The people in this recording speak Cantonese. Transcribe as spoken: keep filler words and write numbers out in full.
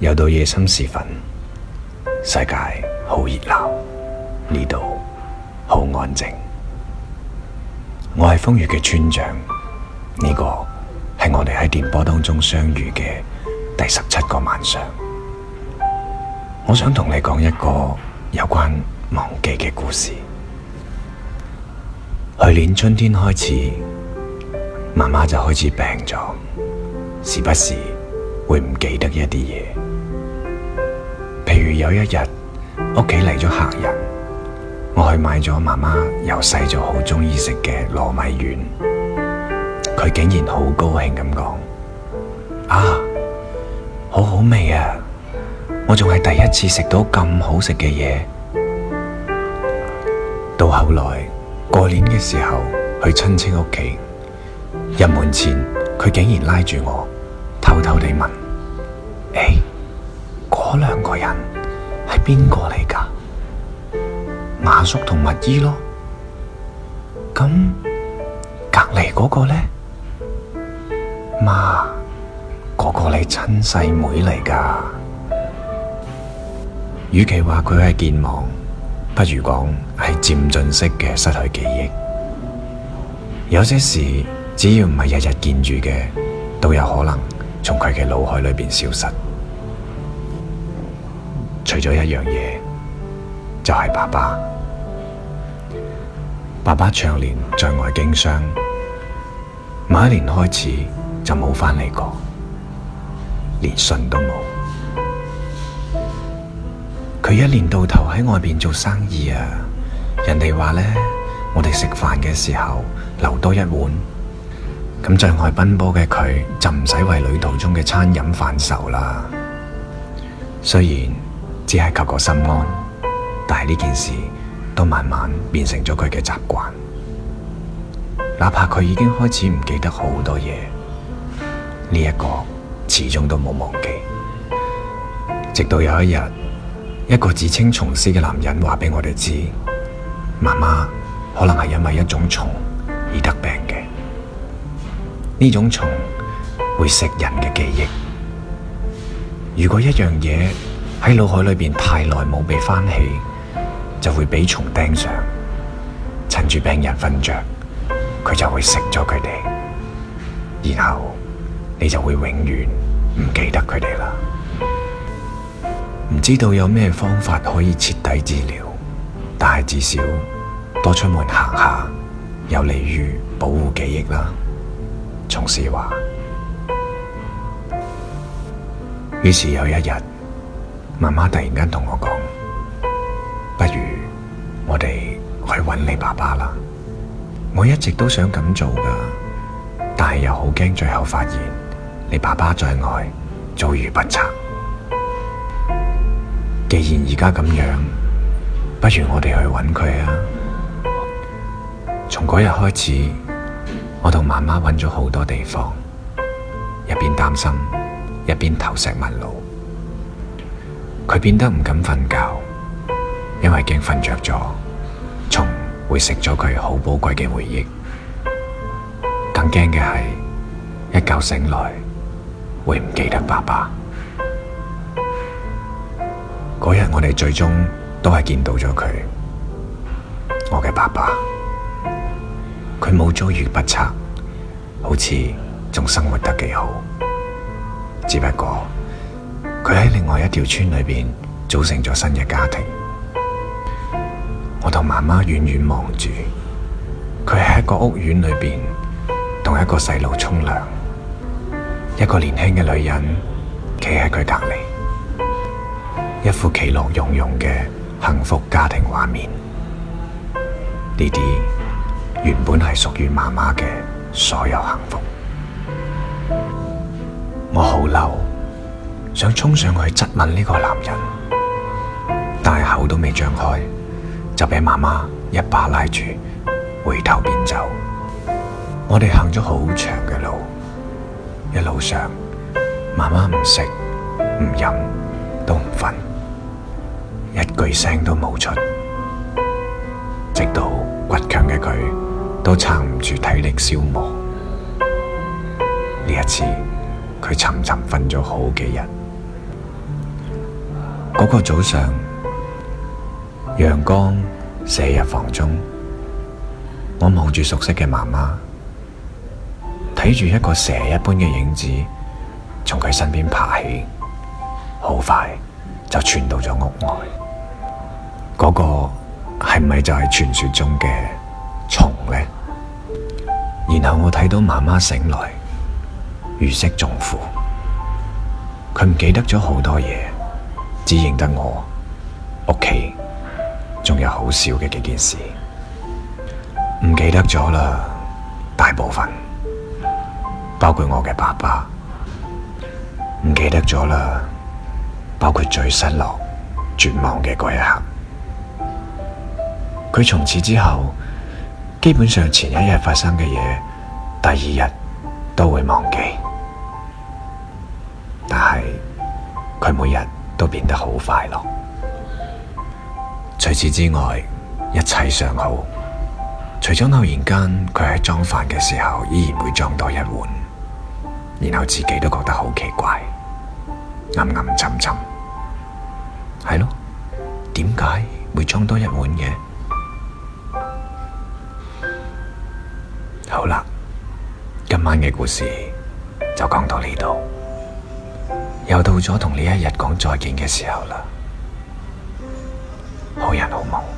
又到夜深時分，世界好熱鬧，呢度好安靜。我係瘋粵嘅村長，呢個係我哋喺電波當中相遇嘅第十七個晚上。我想同你講一個有關忘記嘅故事。去年春天開始，媽媽就開始病咗，時不時會唔記得一啲嘢。譬如有一日屋企嚟咗客人，我去買咗媽媽由細就好鍾意食嘅糯米丸，佢竟然好高興咁講：啊，好好味啊！我仲係第一次食到咁好食嘅嘢。到後來過年嘅時候去親戚屋企，入門前佢竟然拉住我，偷偷地問：誒，嗰兩個人係邊個嚟㗎？馬叔同蜜姨咯。咁隔籬嗰個呢？媽，嗰個你親細妹嚟㗎。與其話佢係健忘，不如講係漸進式嘅失去記憶。有些事只要唔係日日見住嘅，都有可能從佢嘅腦海裏邊消失。除咗一樣嘢，就係爸爸。爸爸長年在外經商，某一年開始就冇返嚟過，連信都冇。佢一年到頭喺外邊做生意啊，人哋話呢，我哋食飯嘅時候留多一碗，咁在外奔波嘅佢就唔使為旅途中嘅餐飲犯愁啦。雖然只係求個心安，但係呢件事都慢慢變成咗佢嘅習慣。哪怕佢已經開始唔記得好多嘢，呢一個始終都冇忘記。直到有一日，一個自稱蟲師嘅男人話俾我哋知，媽媽可能係因為一種蟲而得病嘅。呢種蟲會食人嘅記憶。如果一樣嘢喺腦海裏邊太耐冇被翻起，就會俾蟲盯上，趁住病人瞓着，佢就會食咗佢哋，然後你就會永遠唔記得佢哋啦。唔知道有咩方法可以徹底治療，但係至少多出門行下，有利於保護記憶啦。蟲師話。於是有一日，媽媽突然間同我講：不如我哋去揾你爸爸啦。我一直都想咁做噶，但係又好驚最後發現你爸爸在外遭遇不測。既然而家咁樣，不如我哋去揾佢啊！從嗰日開始，我同媽媽揾咗好多地方，一邊擔心，一邊投石問路。佢變得唔敢瞓覺，因為驚瞓着咗，蟲會食咗佢好寶貴嘅回憶。更驚嘅係，一覺醒來會唔記得爸爸。嗰日我哋最終都係見到咗佢，我嘅爸爸。佢冇遭遇不測，好似仲生活得幾好。只不過佢喺另外一條村裏邊組成咗新嘅家庭。我同媽媽遠遠望住，佢喺一個屋苑裏邊同一個細路沖涼，一個年輕嘅女人企喺佢隔籬，一副其樂融融嘅幸福家庭畫面。呢啲原本係屬於媽媽嘅所有幸福。我好嬲，想衝上去質問呢個男人，但係口都未張開，就俾媽媽一把拉住，回頭便走。我哋行咗好長嘅路，一路上媽媽唔食唔飲都唔瞓，一句聲都冇出，直到倔強嘅佢都撐唔住體力消磨。呢一次佢沉沉瞓咗好幾日， 嗰個早上，陽光射入房中，我望住熟悉嘅媽媽，睇住一個蛇一般嘅影子從佢身邊爬起，好快就傳到咗屋外。嗰個係咪就係傳說中嘅蟲呢？然後我睇到媽媽醒來，如釋重負，佢唔記得咗好多嘢，只認得我屋企仲有好少嘅幾件事，唔記得咗啦。大部分包括我嘅爸爸，唔記得咗啦，包括最失落絕望嘅嗰一刻。佢從此之後基本上前一日發生嘅嘢，第二日都會忘記，但係佢每日都變得好快樂。除此之外，一切尚好，除咗偶然間佢喺裝飯嘅時候依然會裝多一碗，然後自己都覺得好奇怪，暗暗沉沉。係咯，點解會裝多一碗嘅？好啦，今晚嘅故事就講到呢度，又到咗同呢一日講再見嘅時候啦。好人好夢。